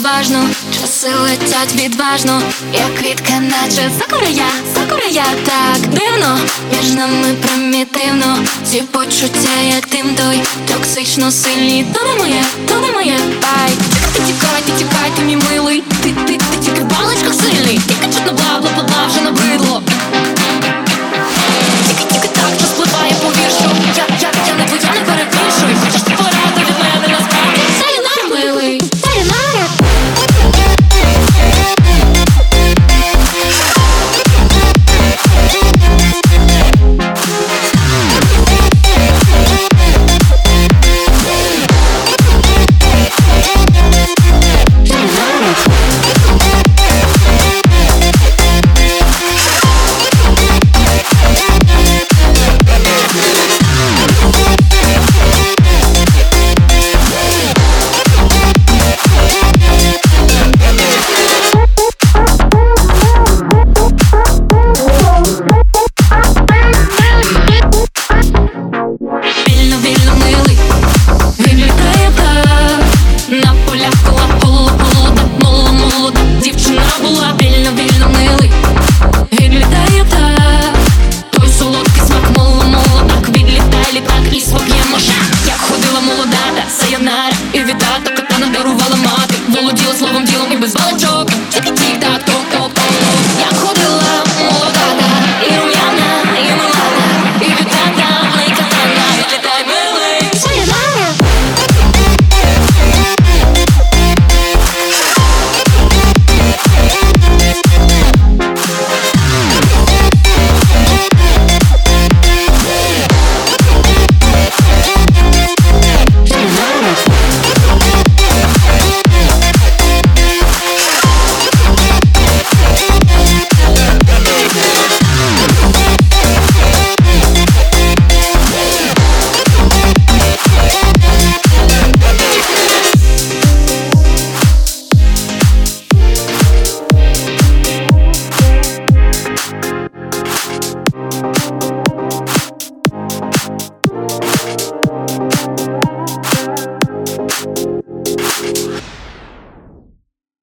розважно, часи летять відважно, як квітка, наче сакура я. Так дивно, між нами примітивно, ці почуття, як дим той, токсично сильні. То не моє, бай. Ти тікай, ти мій милий, ти